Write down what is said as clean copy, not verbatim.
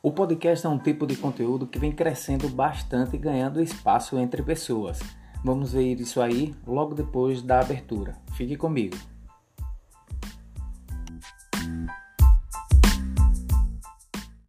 O podcast é um tipo de conteúdo que vem crescendo bastante e ganhando espaço entre pessoas. Vamos ver isso aí logo depois da abertura. Fique comigo.